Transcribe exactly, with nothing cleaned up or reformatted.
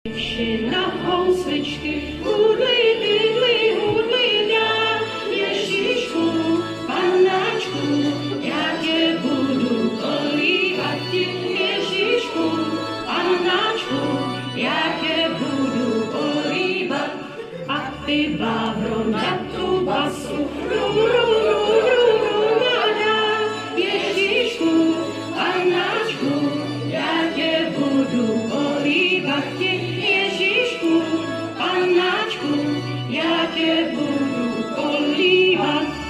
Vši na housličky hudli, bydli, hudli dál. Ježíšku, panáčku, já tě budu polívat. Ježíšku, panáčku, já tě budu polívat. A ty, Bábro, na tu basu